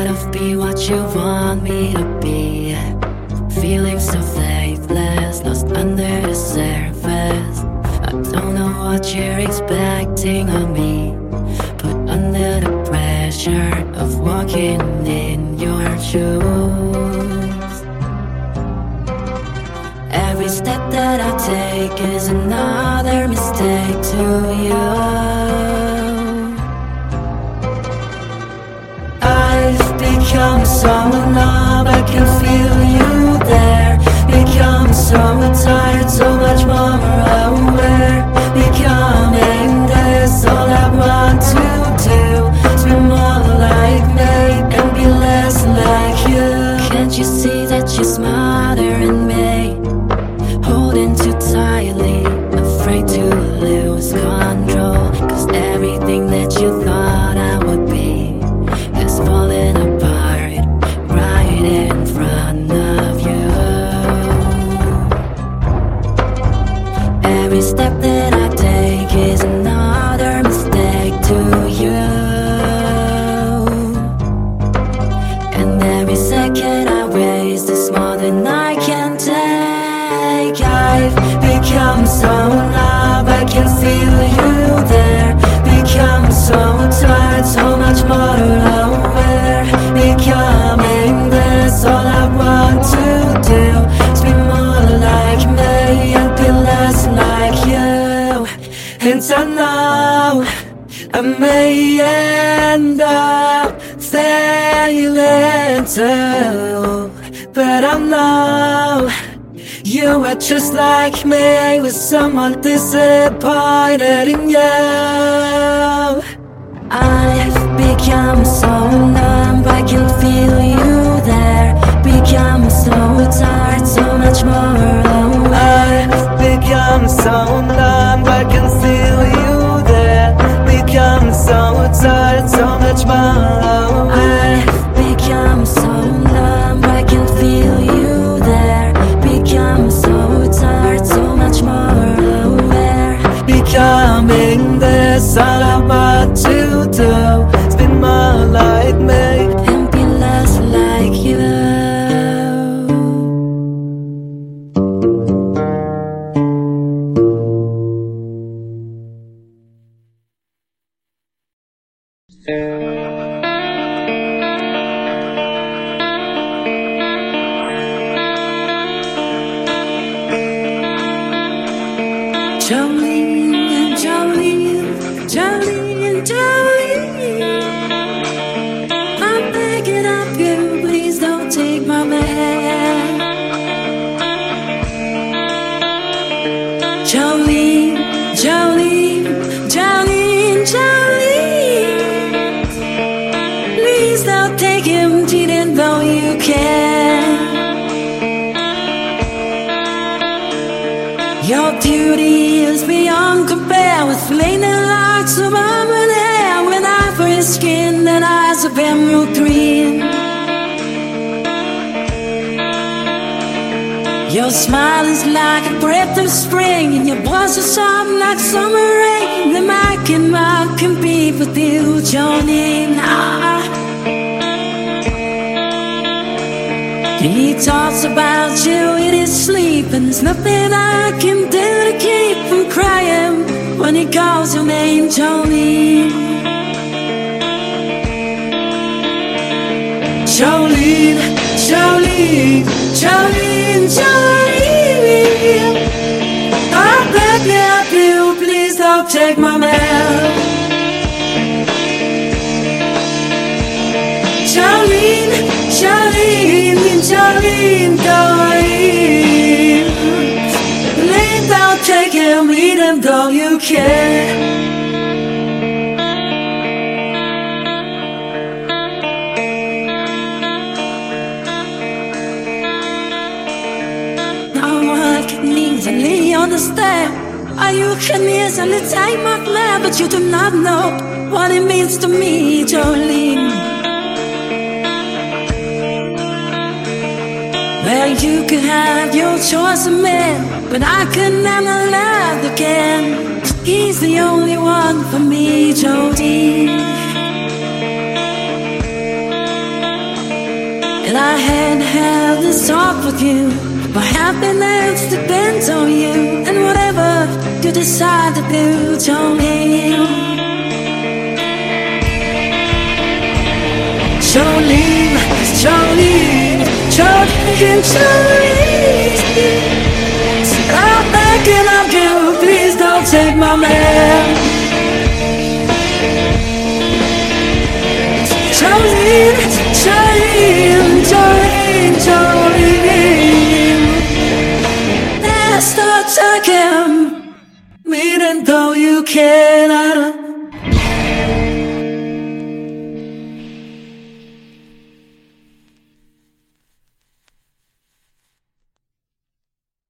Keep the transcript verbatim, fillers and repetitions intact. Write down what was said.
of be what you want me to be. Feeling so faithless, lost under the surface. I don't know what you're expecting of me, but under the pressure of walking in your shoes, every step that I take is another mistake to you. I've become so in love, I can feel you there. Become so tired, so much more aware. Becoming this, all I want to do is be more like me and be less like you. Can't you see that you're smarter than me? Holding too tightly, afraid to lose control. Cause everything that you thought I would be is falling apart right in front of you. Every step that I take is another mistake to you. And every second I waste is more than I can take. I've become so in love, I can feel you there. Become so tired, so much more aware. Becoming this, all I want to do is be more like me and be less like you. And I know I may end up failing too, but I know you are just like me, with someone disappointed in you. I've become so numb, I can feel you there. Become so tired, so much more aware. I've become so numb, I can feel you there. Become so tired, so much more aware. I've become so numb, I can feel you there. Become so tired, so much more aware. Becoming this, all I want to do is be more like me and be less like you. Jolene, Jolene, Jolene, Jolene, I'm begging of you, please don't take my man. Jolene, Jolene, Jolene, Jolene, please don't take him, cheating though you can. Your beauty is beyond compare, with flaming locks of almond hair, with ivory skin and eyes of emerald green. Your smile is like a breath of spring, and your voice is soft like summer rain. The I cannot compete with you, Jolene. Ah. He talks about you in his sleep, and there's nothing I can do to keep from crying when he calls your name, Jolene. Jolene, Jolene, Jolene, Jolene, I beg of you, please don't take my man. Jolene, Jolene, Jolene, Jolene, please don't take him, even though you can. No one can easily understand how you can easily take my plan, but you do not know what it means to me, Jolene. Well, you could have your choice of men, but I could never love again. He's the only one for me, Jolene. I hadn't had this talk with you, my happiness depends on you, and whatever you decide to do, Jolene. Jolene, Jolene, Jolene, Jolene. I'm thinking of you, please don't take my man.